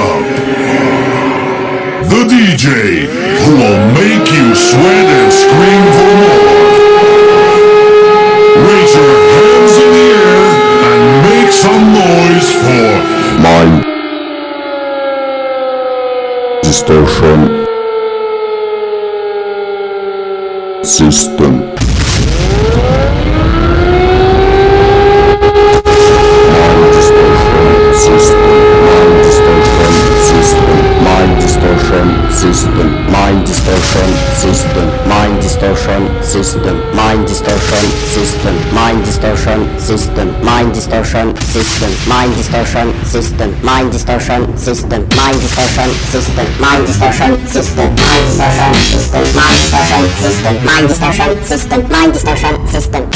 up. The DJ who will make you sweat and scream for more. Raise your hands in the air and make some noise for Mind Distortion System. Mind distortion system, mind distortion system, mind distortion system, mind distortion system, mind distortion system, mind distortion system, mind distortion system, mind distortion system, mind distortion system, mind distortion system, mind distortion system, mind distortion system, mind distortion system.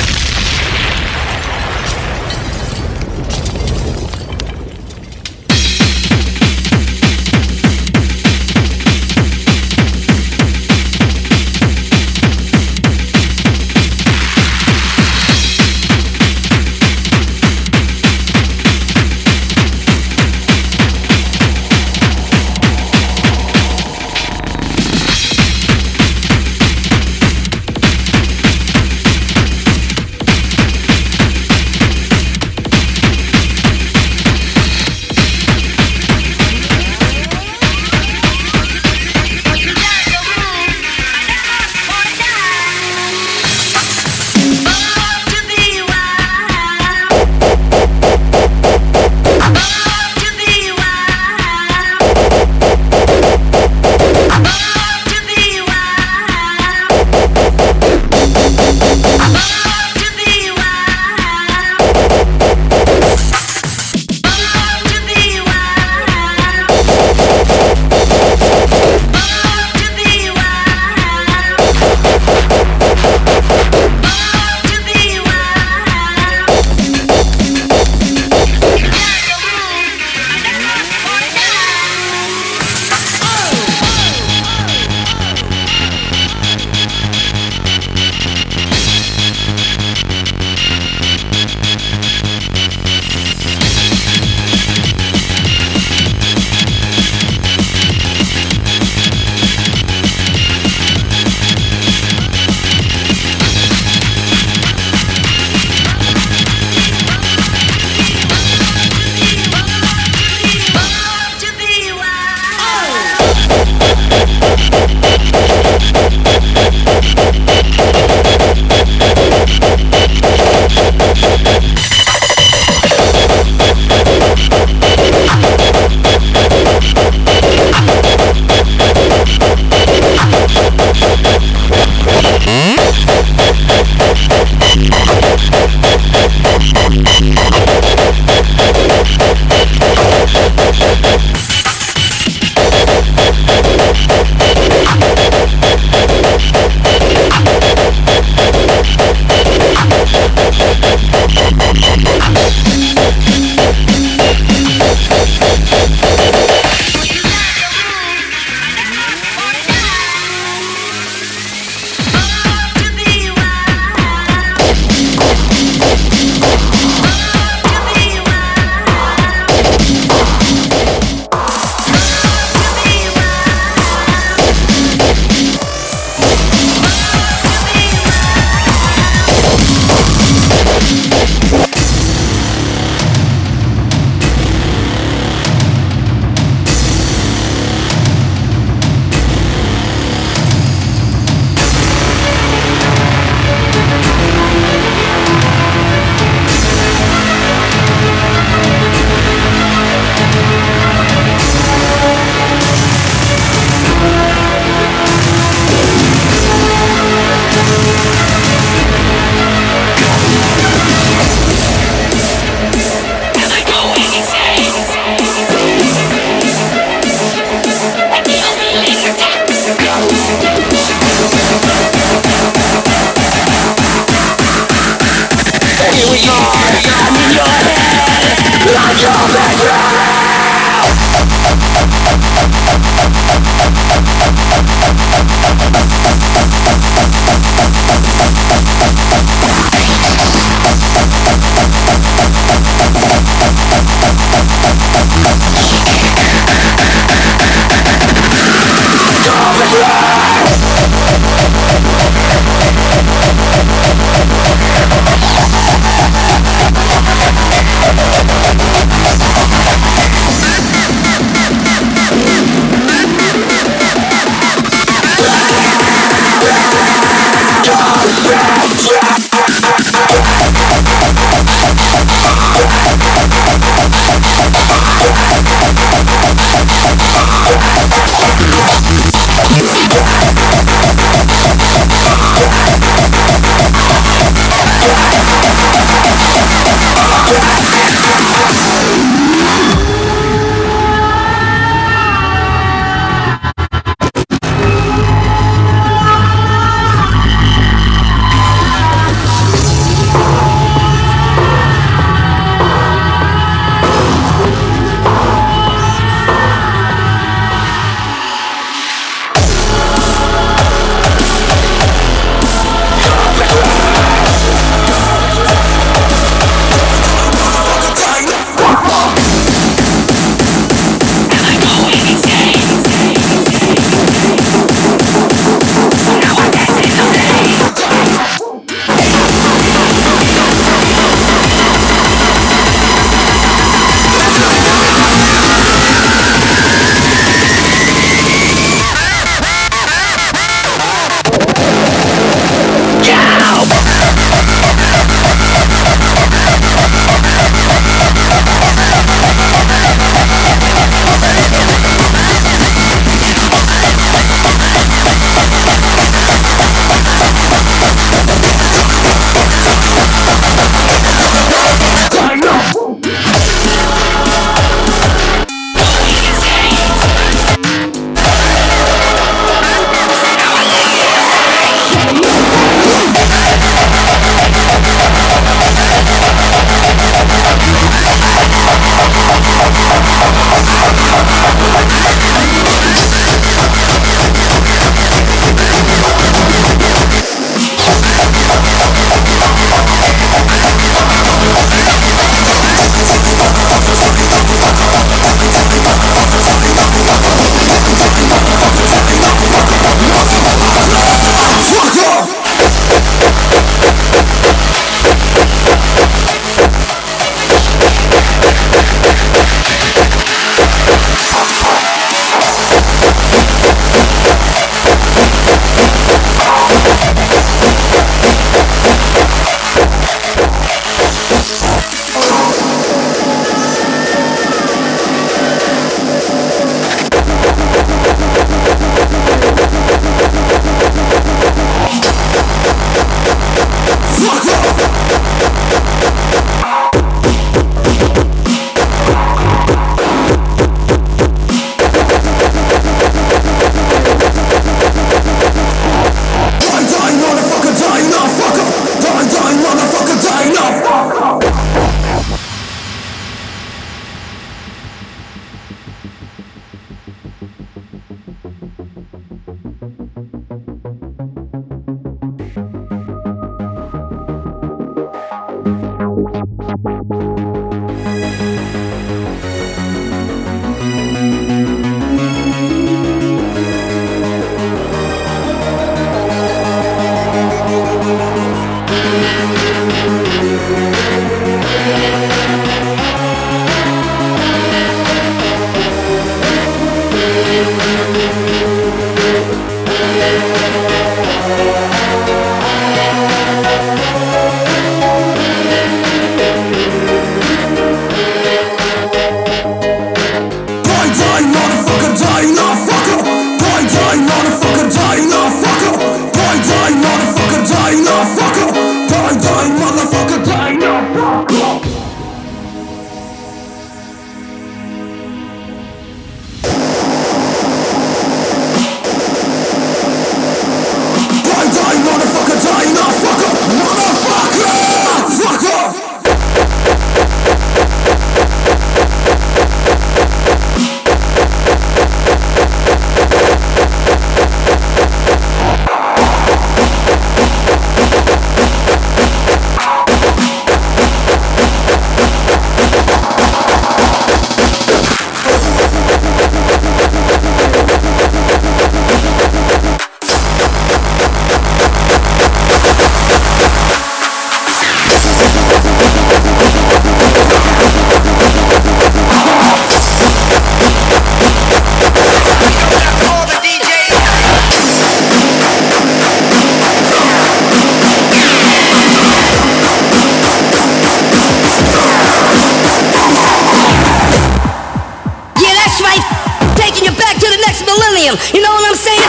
William. You know what I'm saying?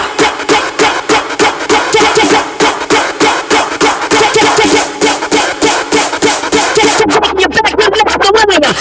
You're back to Mr. William.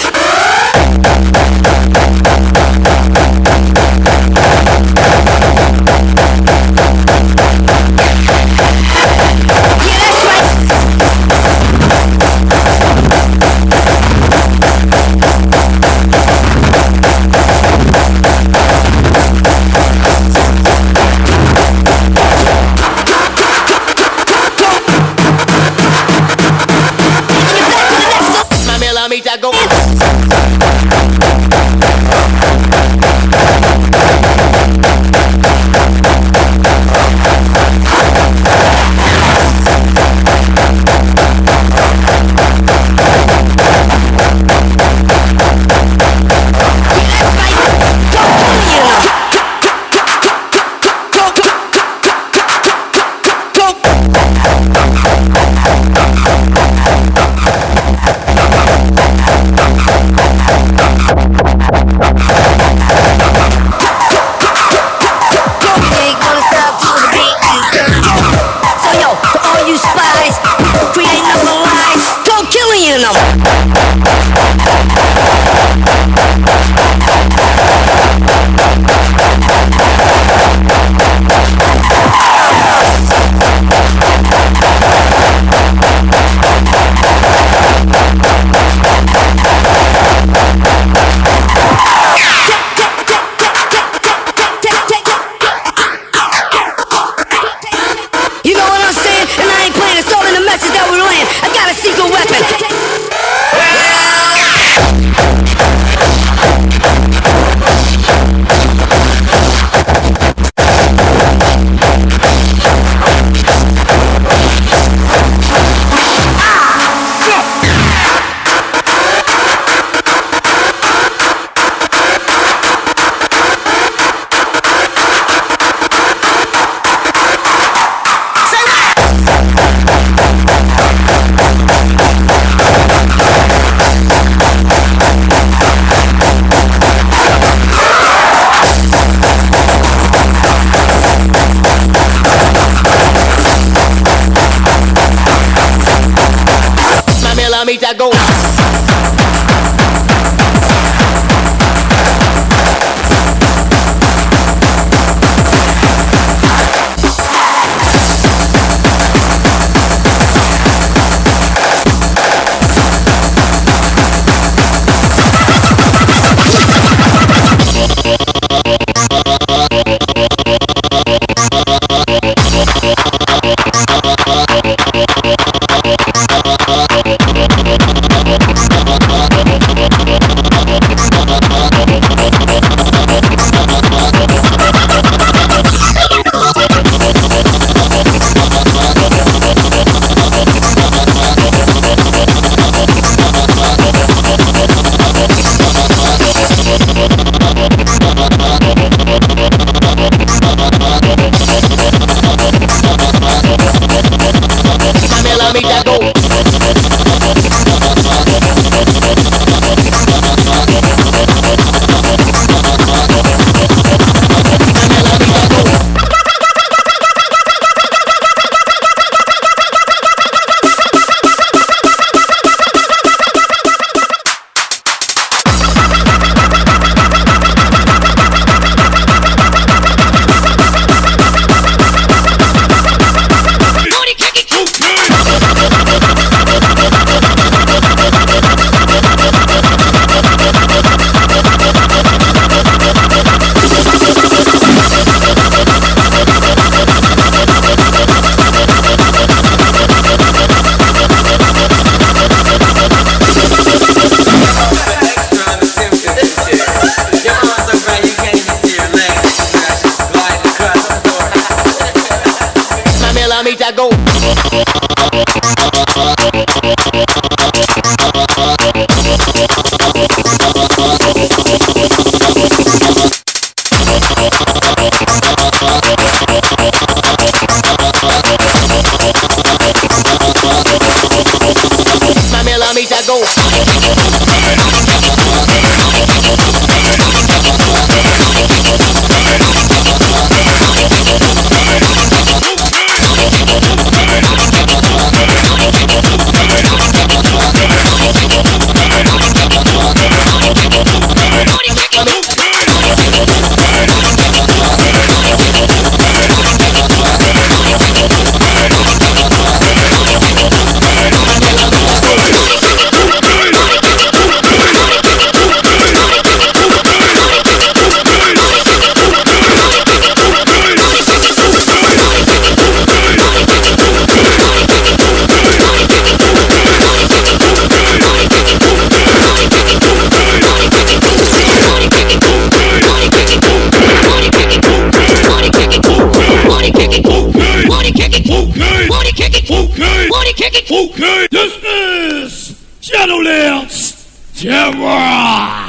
Okay, this is Shadowlands Terror.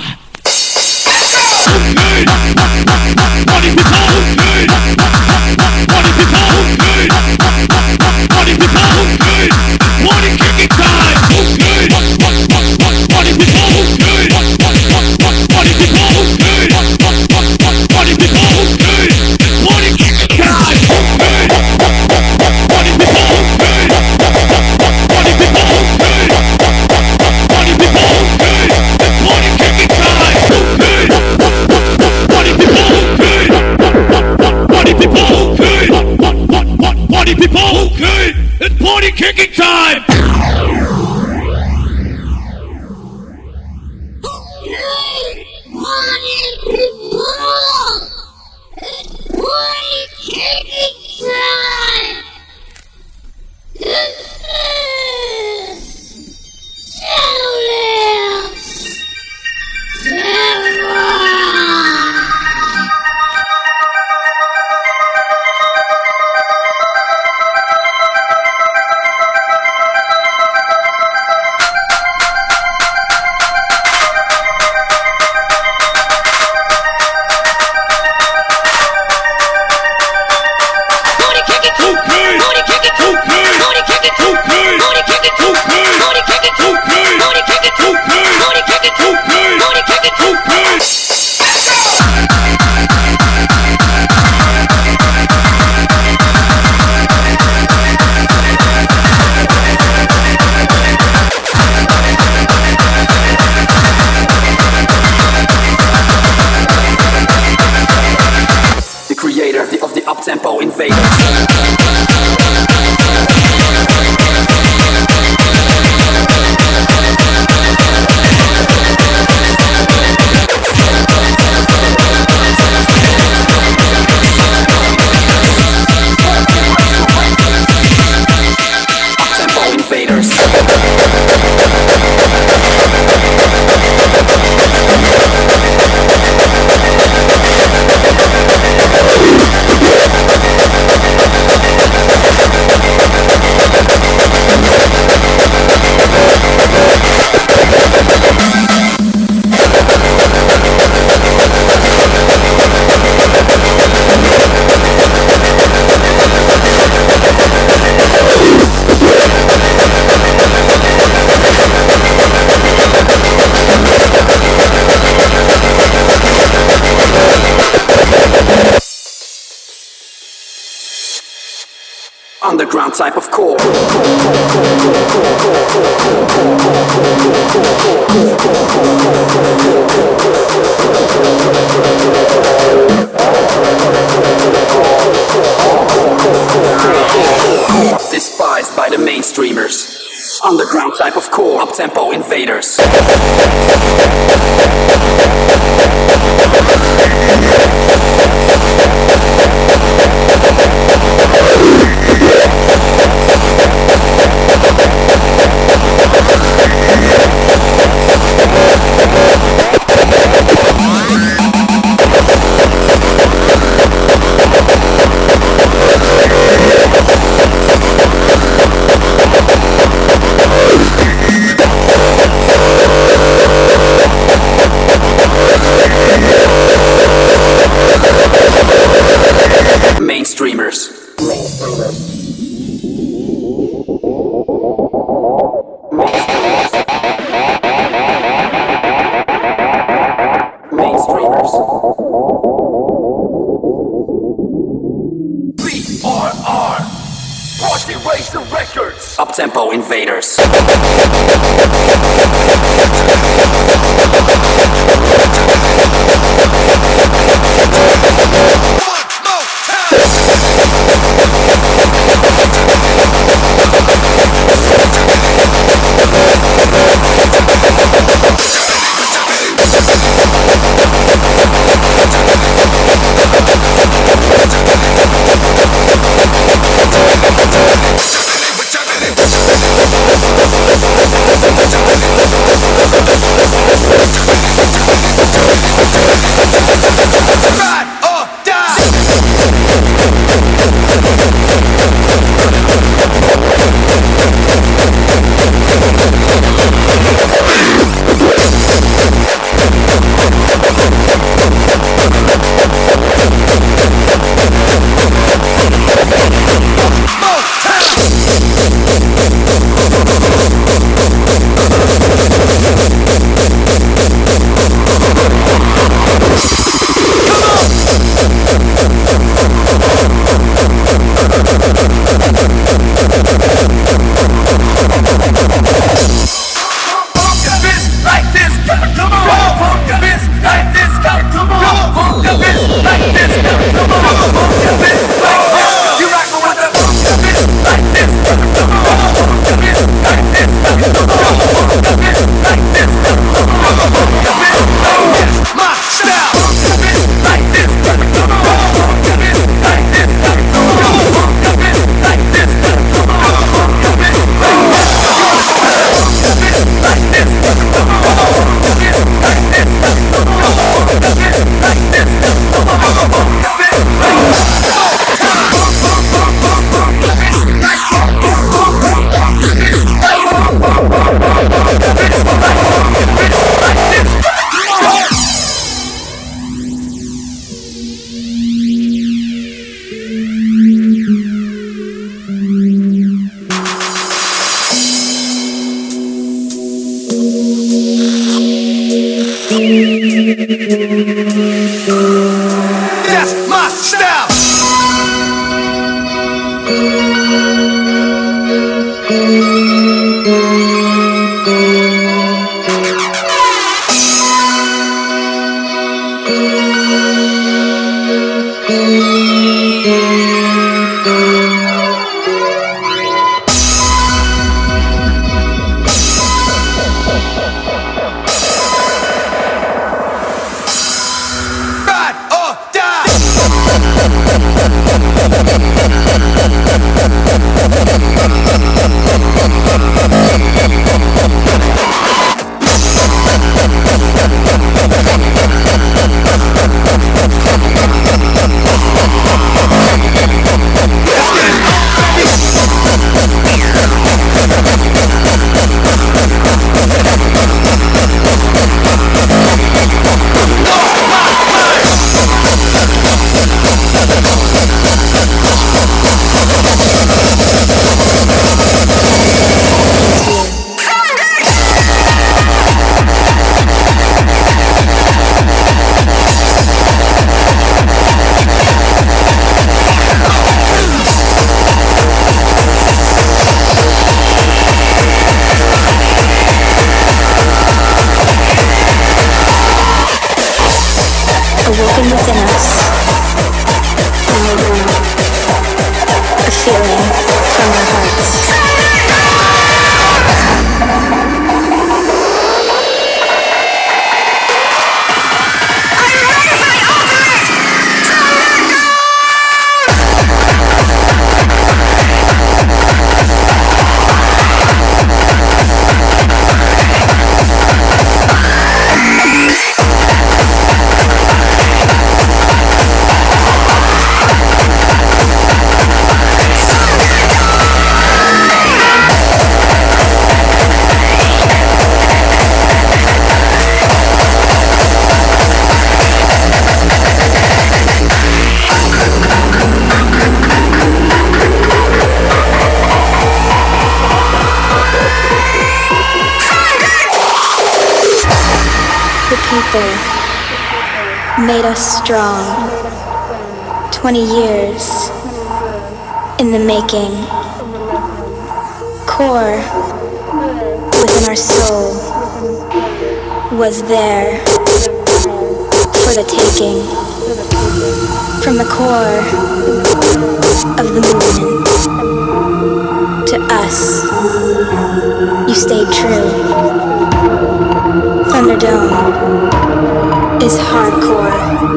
Okay, party people. Okay, party people. Okay, party people. Okay, party kicking time. Okay, party people. Okay, party people. Okay, party people. Okay, party kicking time. Okay, party people. Okay, party people. Okay, party people. Okay, party kicking time. Okay, party people. Okay, party people. Okay, party people. Okay, it's party kicking time. Up-tempo invaders. Underground type of core. Despised by the mainstreamers. Underground type of core. Up-tempo invaders. Mainstreamers. BRR Party Racer Records. Up-tempo invaders. Right. my style. Awoken within us, a feeling from our hearts. Made us strong. 20 years in the making. Core within our soul was there for the taking. From the core of the movement to us, you stayed true. Thunderdome is hardcore.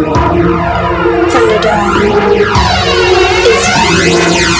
Thunderdome is you.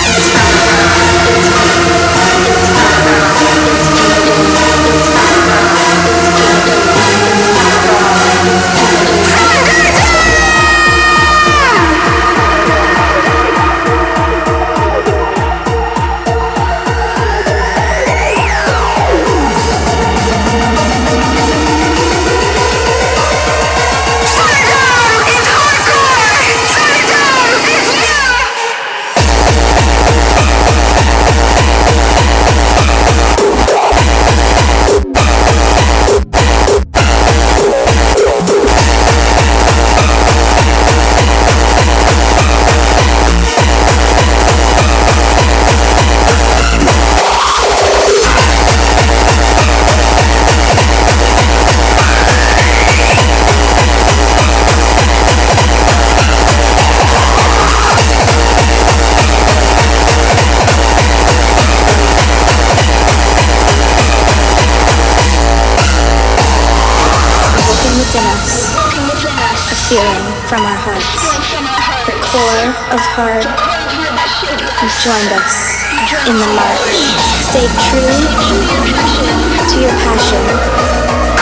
Feeling from our hearts, the core of hard, you've joined us in the march. Stay true to your passion.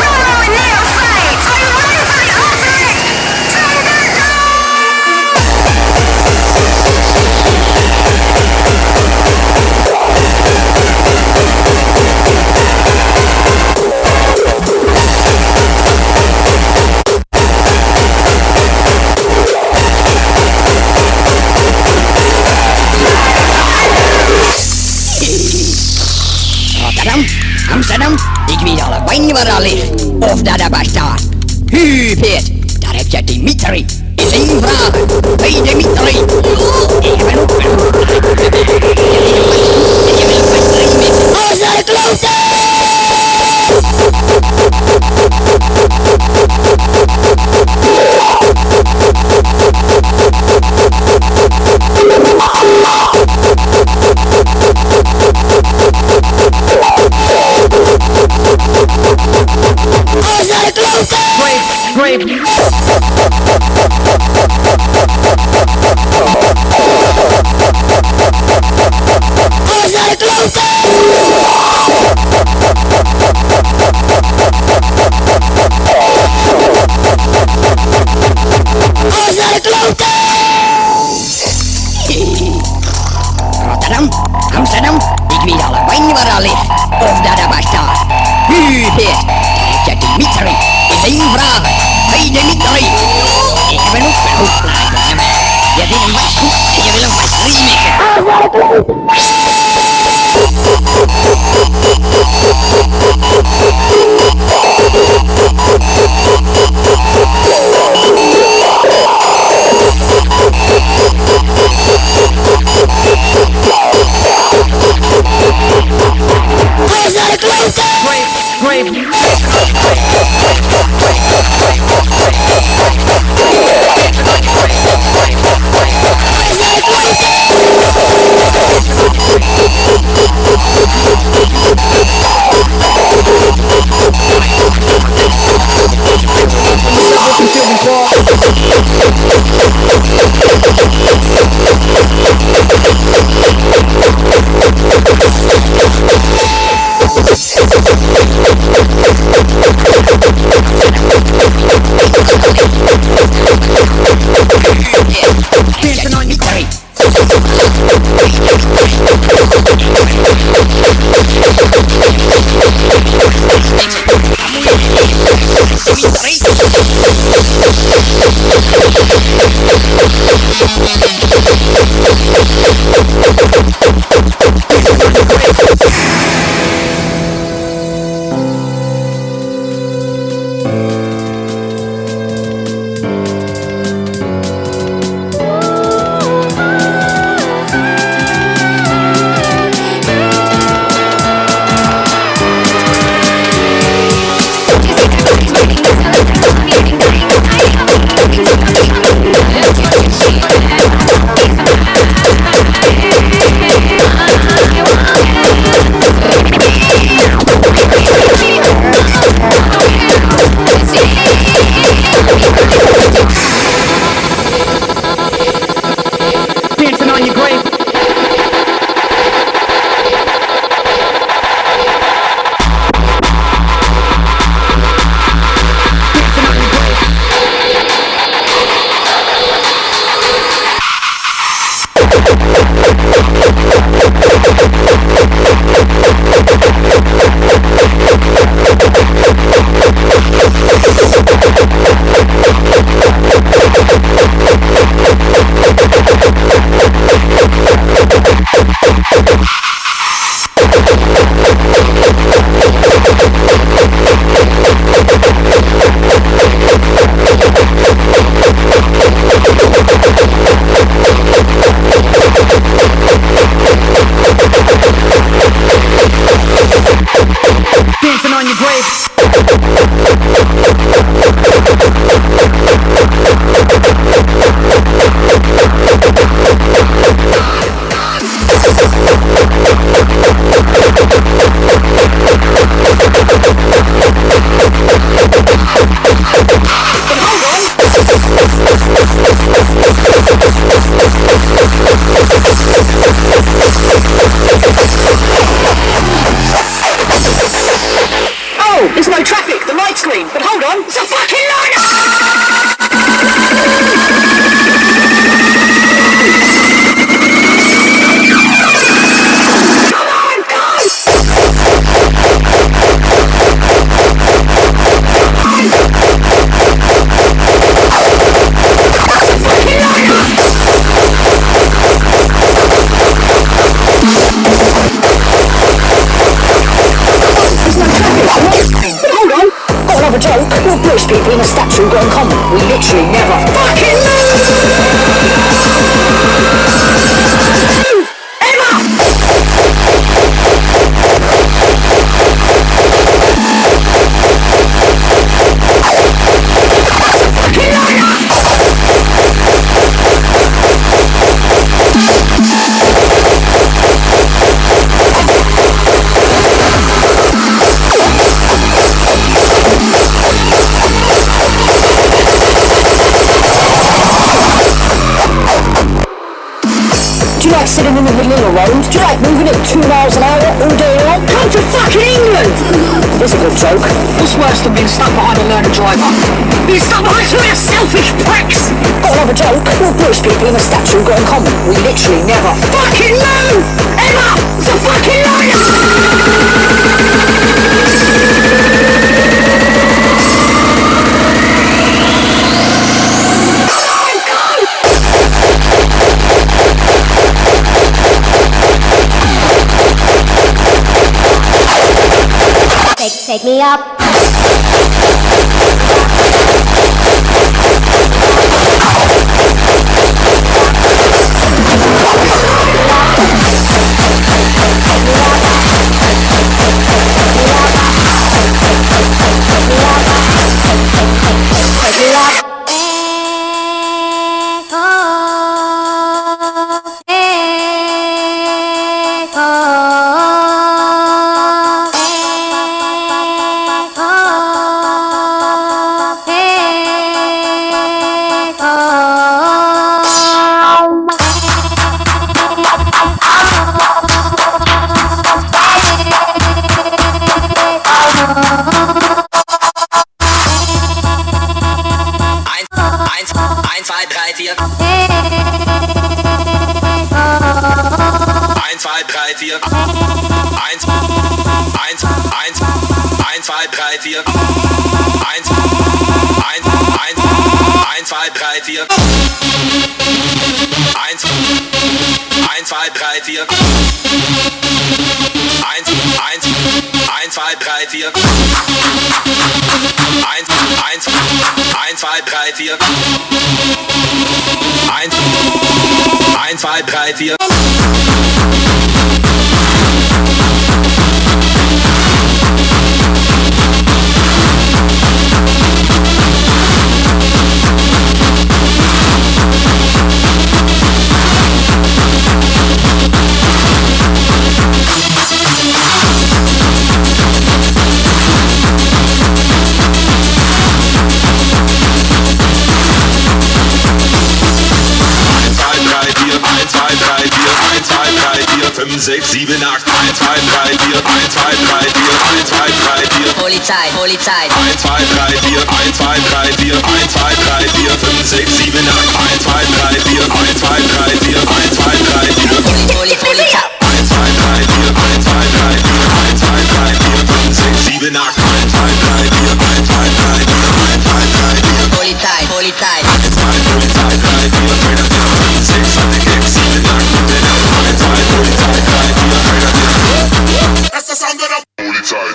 Amsterdam, ik weet alle wijn waar al ligt, of dat er bestaat. Huub heet, daar heb je Dimitri. Is één vraag, weet Dimitri. Ik ben ook wel. Alles naar de kloten! Alles naar de kloten! Alles naar de kloten! Alles naar de kloten! Rotterdam, Amsterdam, ik weet allebei waar dat ligt. Of dat er bestaat. U heet, je Dimitri. Is één vraag. Hey Dimitri. Ik ben ook een hoofdplaatje. Je vindt hem wat goed en je wil hem wat remaken. Alles naar de kloten! Do you like sitting in the middle of the road? Do you like moving at 2 miles an hour all day long? Come to fucking England! It's a good joke. What's worse than being stuck behind a learner driver? Being stuck behind two of your selfish pricks! Got another joke. What British people in a statue got in common? We literally never fucking move! Ever! It's a fucking liar! Take me up. Sechs, sieben, acht, 1, 2, 3, 4, 1, 2, 3, 4, 1, 2, 3, 4. Polizei, Polizei. 1, 2, 3, 4, 1, 2, 3, 4, 1, 2, 3, 4, 5, 6, 7, 8, 1, 2, 3, 4, 1, 2, 3, 4, 1, 2, 3, 4. Polizei. 1, 2, 3, 4, 1, 2, 3, 4, 1, 2, 3, 4, 5, 6, 7, 8, 1, 2, 3, 4, 1, 2, 3, 4, 1, 2, 3, 4. Polizei, Polizei. 1, 2, Polizei, 3, 4, 5, 6, 7, 8, 1, 2, Polizei, 3, 4, that's the sound of the Polizei.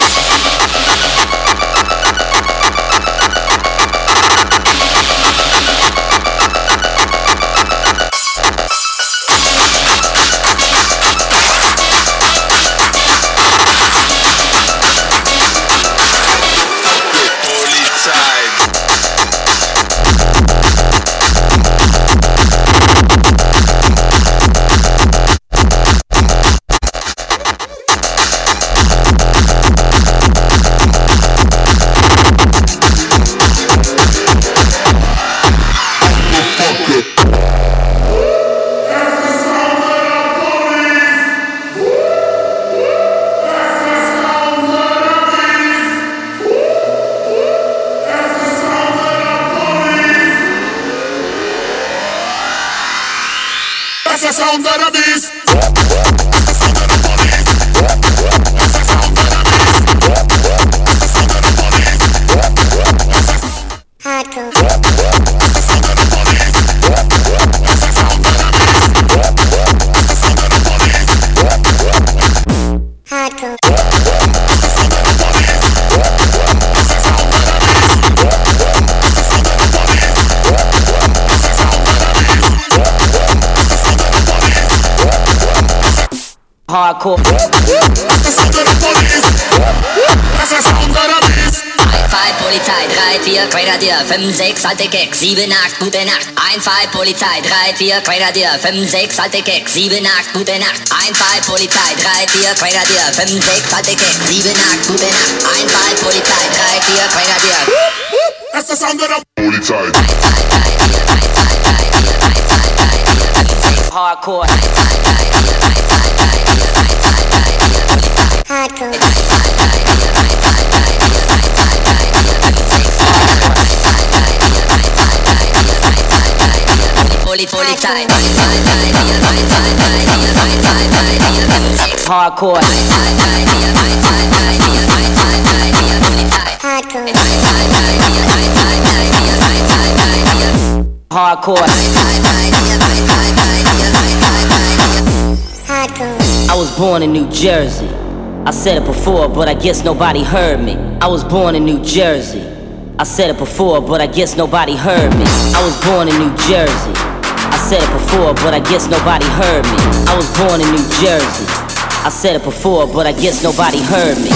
That's the sound of the beast. Hardcore. Polizei, 3, 4, Grenadier, 5, 6, alte Keks, 7, 8, gute Nacht. 1, 2, Polizei, 3, 4, Grenadier, 5, 6, alte Keks, 7, 8, gute Nacht. 1, 2, Polizei, 3, 4, Grenadier, 5, 6, alte Keks, 7, 8, gute Nacht. 1, 2, Polizei, 3, 4, Grenadier. That's the sound of the Polizei. 1, 2, 3, 4, 1, 2, 3, 4, 1, 2, 3, 4, 5, 6, Hardcore. Hardcore. Hardcore. Hardcore. I was born in New Jersey. I said it before, but I guess nobody heard me. I was born in New Jersey. I said it before, but I guess nobody heard me. I was born in New Jersey. I said it before, but I guess nobody heard me. I was born in New Jersey. I said it before, but I guess nobody heard me.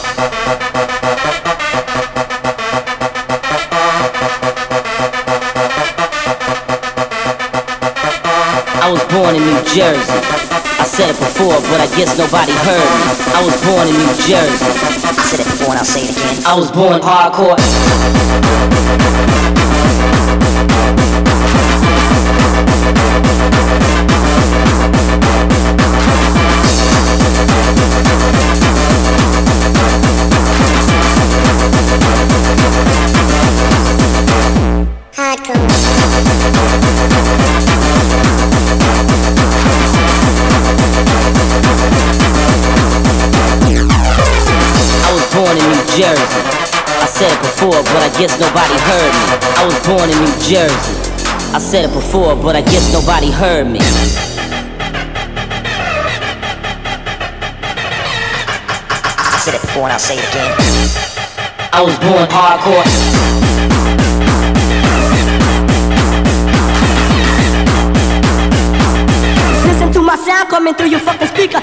I was born in New Jersey. I said it before, but I guess nobody heard me. I was born in New Jersey. I said it before and I'll say it again. I was born hardcore. Jersey. I said it before, but I guess nobody heard me. I was born in New Jersey. I said it before, but I guess nobody heard me. I said it before and I'll say it again. I was born hardcore. Listen to my sound coming through your fucking speaker.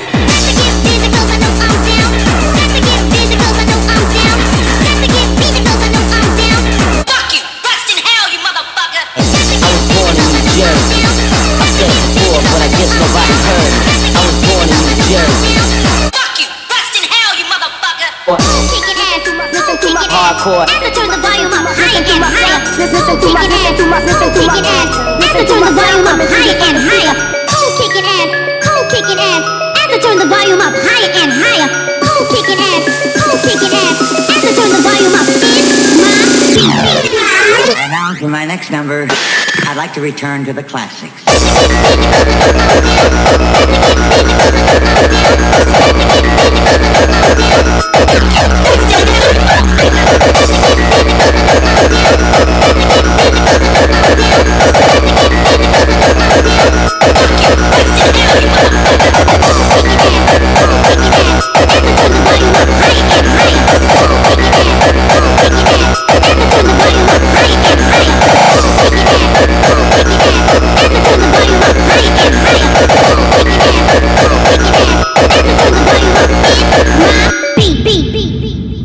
But I guess nobody heard me. I was born in New Jersey. Fuck you, rest in hell, you motherfucker. Kicking ass, listen to my hardcore. Have to turn the volume up higher and higher. Listen to my, listen to my, listen to my ass. Have to turn the volume up higher and higher. Who kicking ass? Who kicking ass? Have to turn the volume up higher and higher. Who kicking ass? Who kicking ass? Have to turn the volume up in my beat. And now for my next number, I'd like to return to the classics. Beat.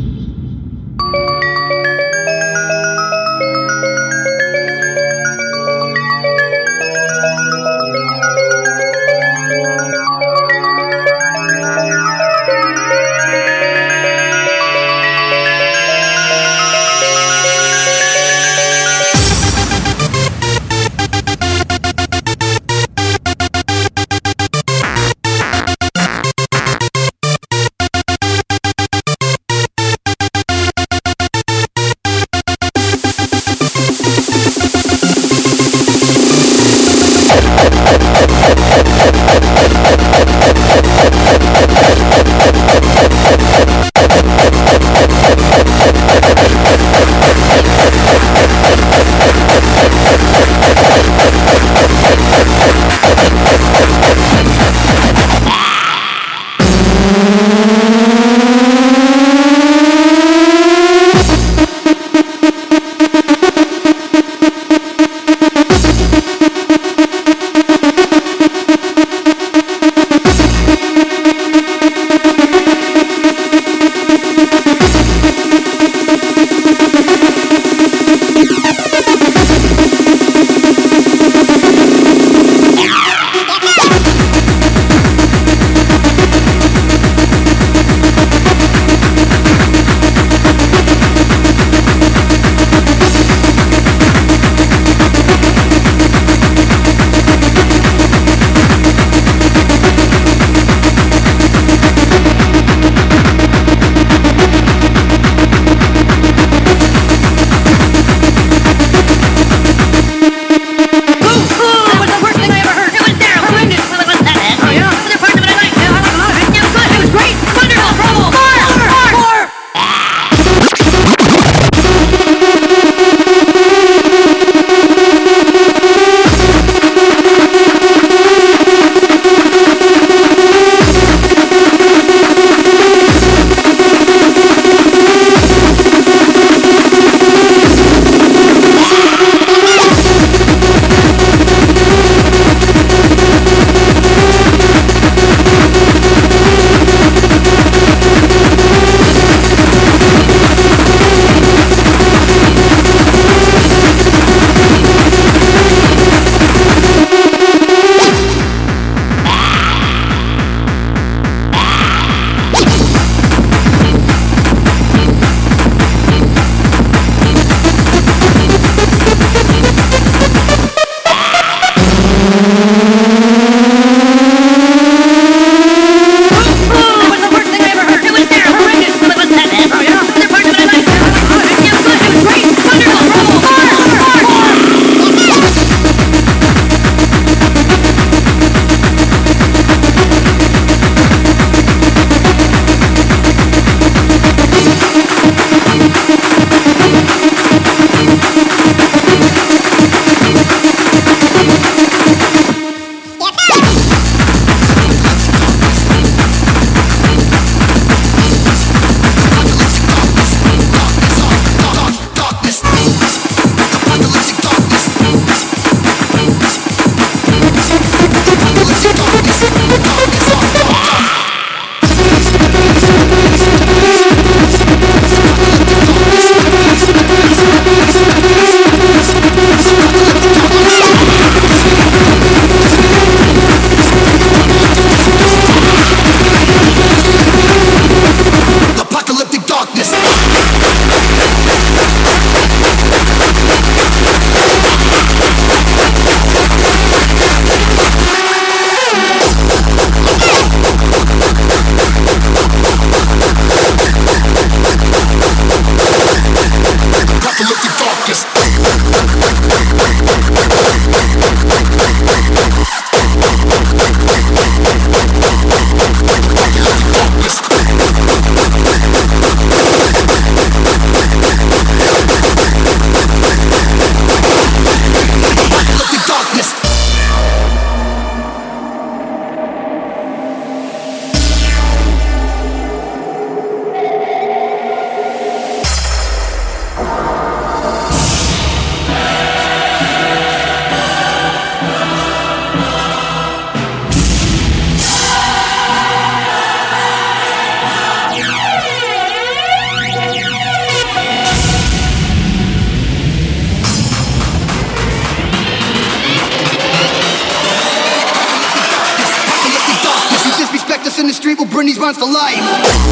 in the street will bring these rhymes to life.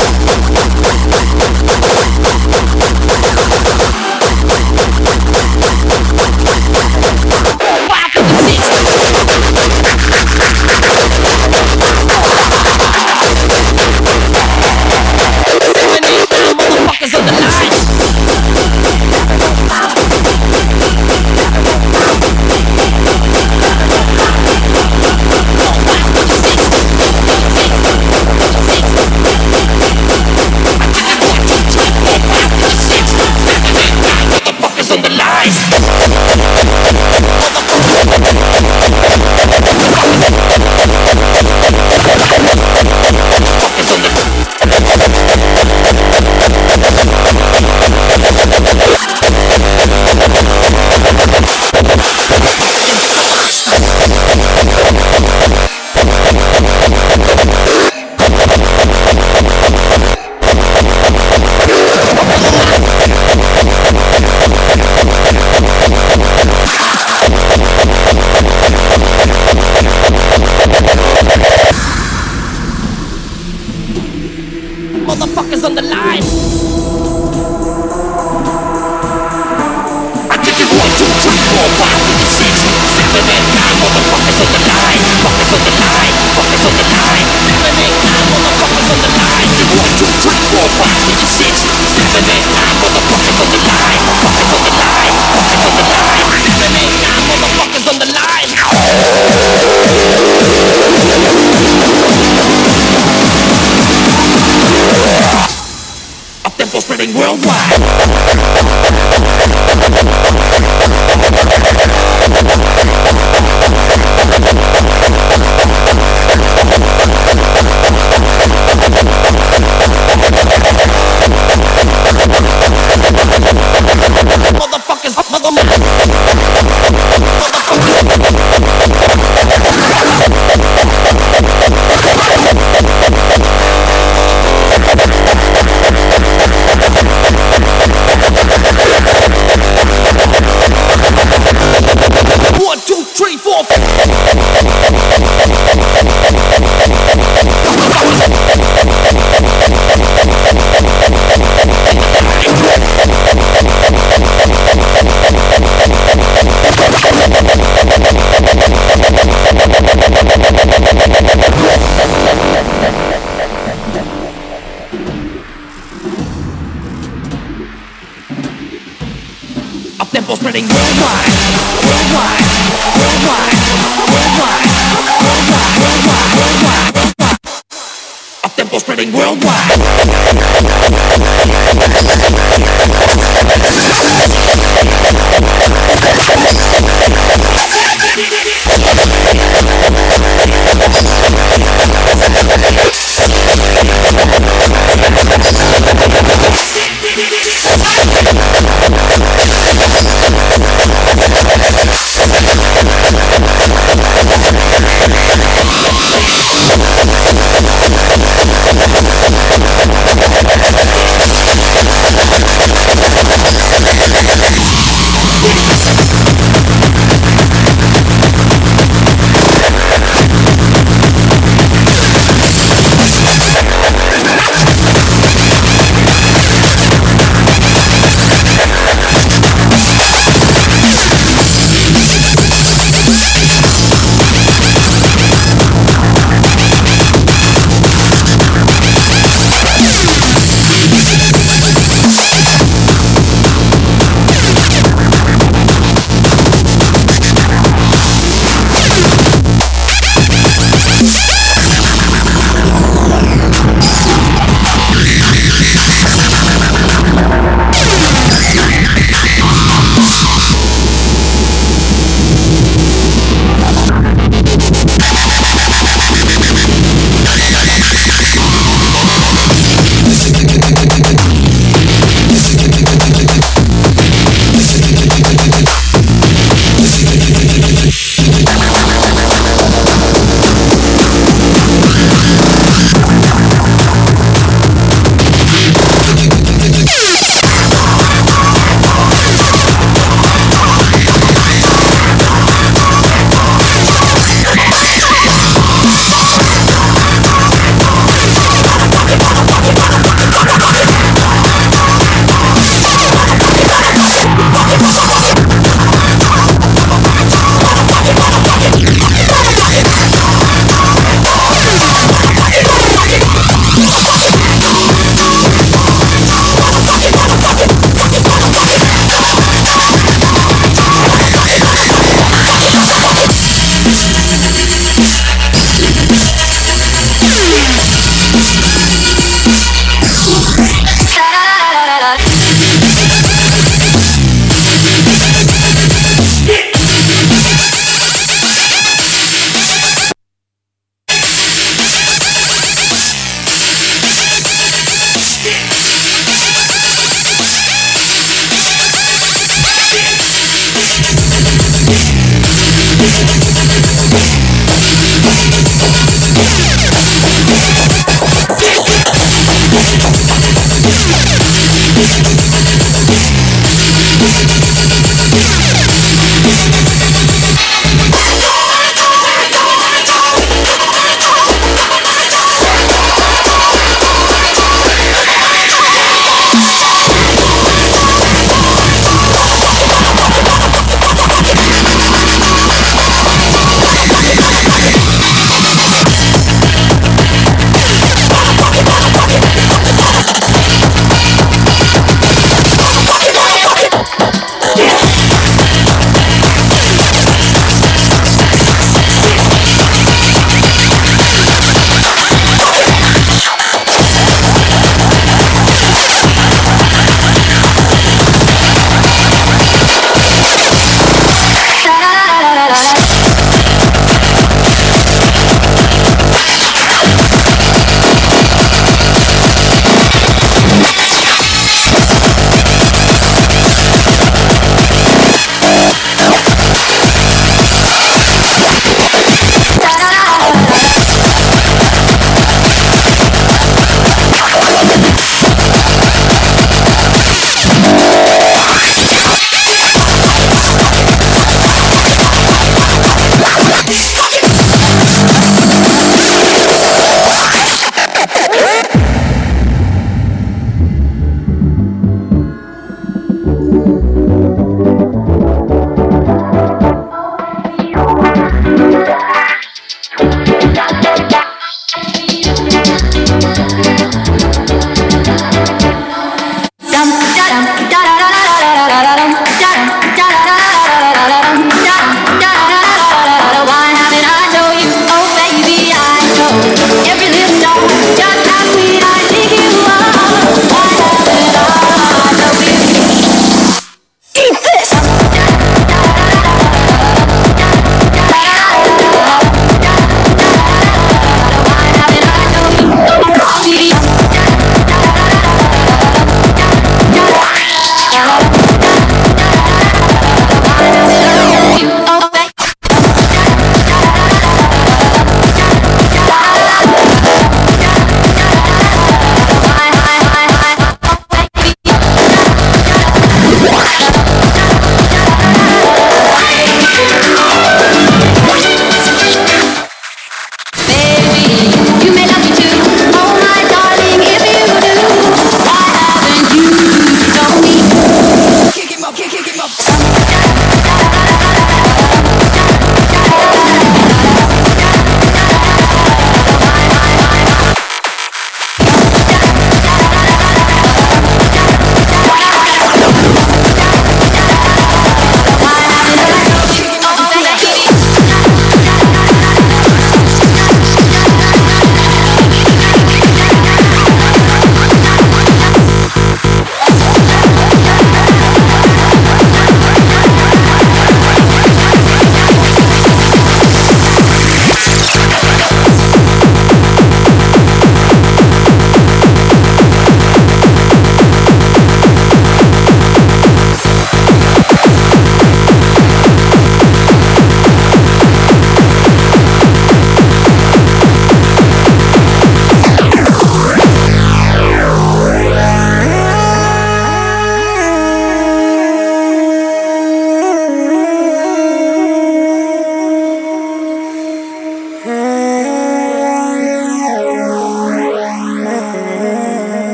Motherfuckers on the line. Motherfuckers on the line. Motherfuckers on the line. I take it 1, 2, 3, 4, 5, 6, 7, 8, 9. Motherfuckers on the line. Fuckers on the line. Fuckers on the line. 7, 8, 9. Motherfuckers on the line. 1, 2, 3, 4, 5, 6, 7, 8, 9. Motherfuckers on the line. Fuckers on the line. Fuckers on the line. 7, 8, 9. Motherfuckers on the line. Tempo spreading worldwide. Motherfuckers, tempo spreading worldwide, worldwide, worldwide, worldwide, worldwide, worldwide, worldwide, worldwide. Up tempo spreading worldwide.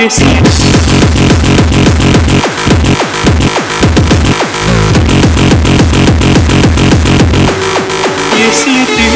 Если ты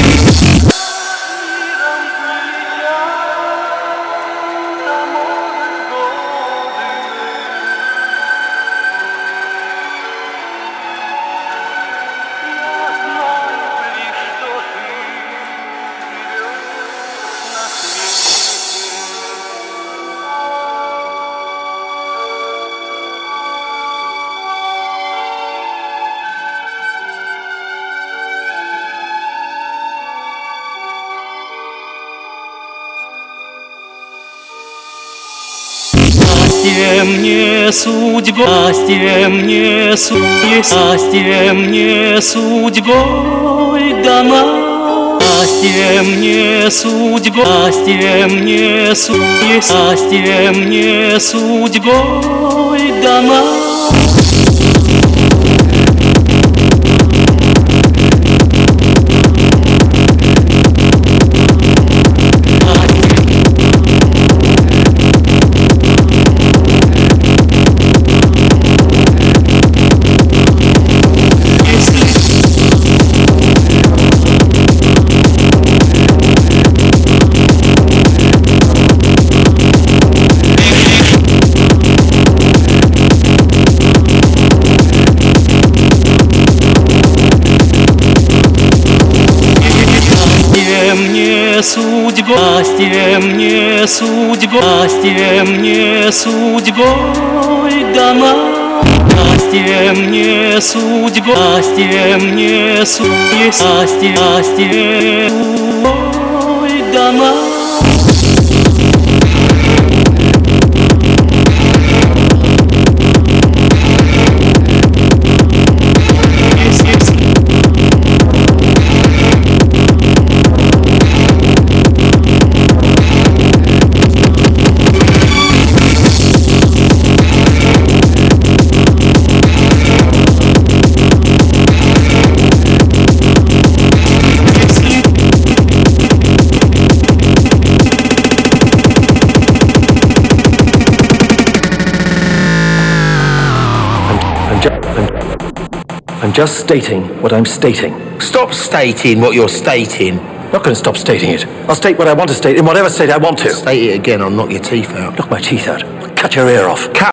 счастье мне судьба, счастье мне счастье мне судьбой дана. Счастье мне судьба, счастье мне счастье мне судьбой дана. Судьба, счастье мне судьба, счастье мне судьбой дана. Счастье мне судьба, счастье мне счастье судьбой дана. I'm just stating what I'm stating. Stop stating what you're stating. Not going to stop stating it. I'll state what I want to state in whatever state I want to. State it again, I'll knock your teeth out. Knock my teeth out. Cut your ear off. Cut